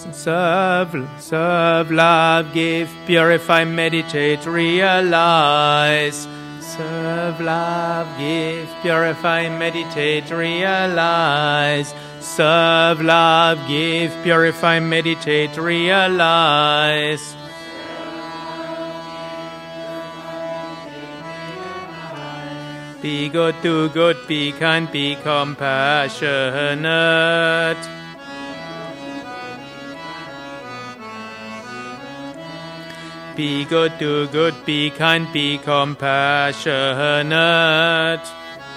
Serve, love, give, purify, meditate, realize. Serve, love, give, purify, meditate, realize. Serve, love, give, purify, meditate, realize. Be good, do good, be kind, be compassionate. Be good, do good, be kind, be compassionate.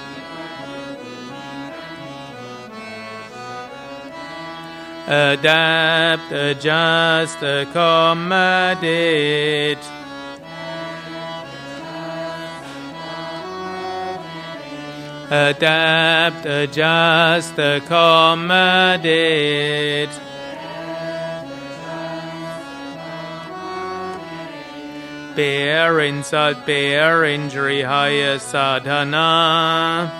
Adapt, adjust, accommodate. Adapt, adjust, accommodate. Bear insult, bear injury, higher sadhana.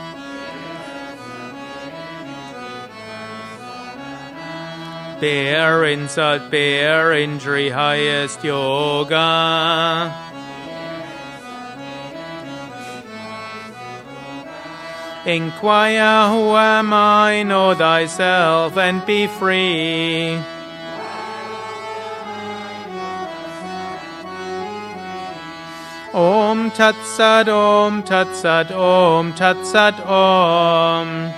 Bear insult, bear injury, highest yoga. Inquire, who am I? Know thyself and be free. Om Tat Sat, Om Tat Sat, Om Tat Sat, Om.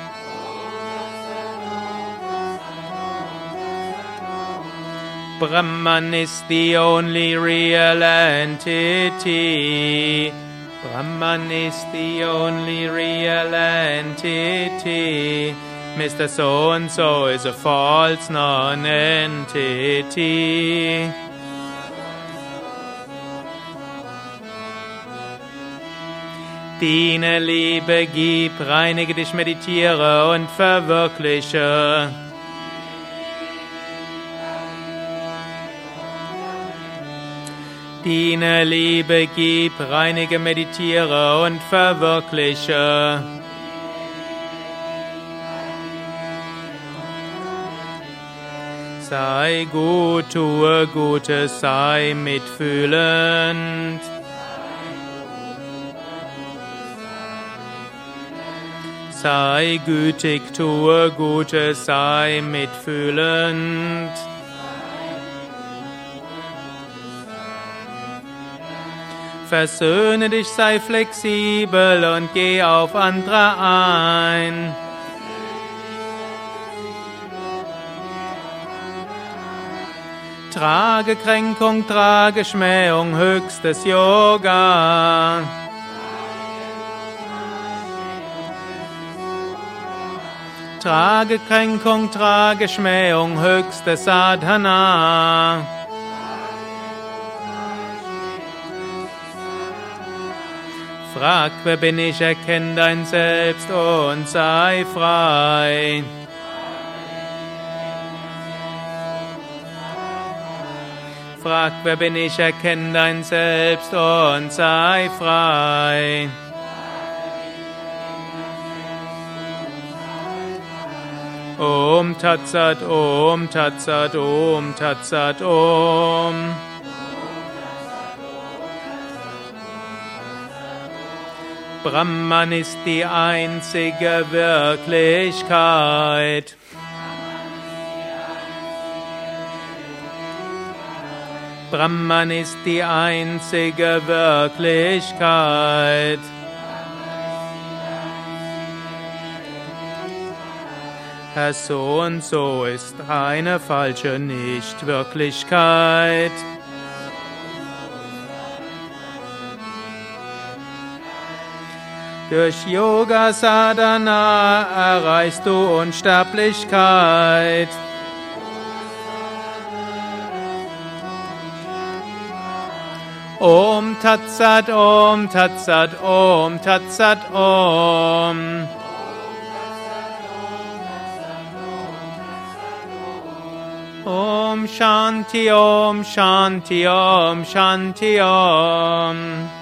Brahman is the only real entity. Brahman is the only real entity. Mr. So-and-so is a false non-entity. Diene, liebe, gib, reinige dich, meditiere und verwirkliche. Diene, liebe, gib, reinige, meditiere und verwirkliche. Sei gut, tue Gutes, sei mitfühlend. Sei gütig, tue Gutes, sei mitfühlend. Versöhne dich, sei flexibel und geh auf andere ein. Trage Kränkung, trage Schmähung, höchstes Yoga. Trage Kränkung, trage Schmähung, höchste Sadhana. Frag, wer bin ich, erkenn dein Selbst und sei frei. Frag, wer bin ich, erkenn dein Selbst und sei frei. Om Tat Sat, Om Tat Sat, Om Tat Sat, Om. Brahman ist die einzige Wirklichkeit. Brahman ist die einzige Wirklichkeit. Herr So und so ist eine falsche Nichtwirklichkeit. Durch Yoga Sadhana erreichst du Unsterblichkeit. Om Tat Sat, Om Tat Sat, Om Tat Sat, Om. Om Shanti, Om Shanti, Om Shanti, Om.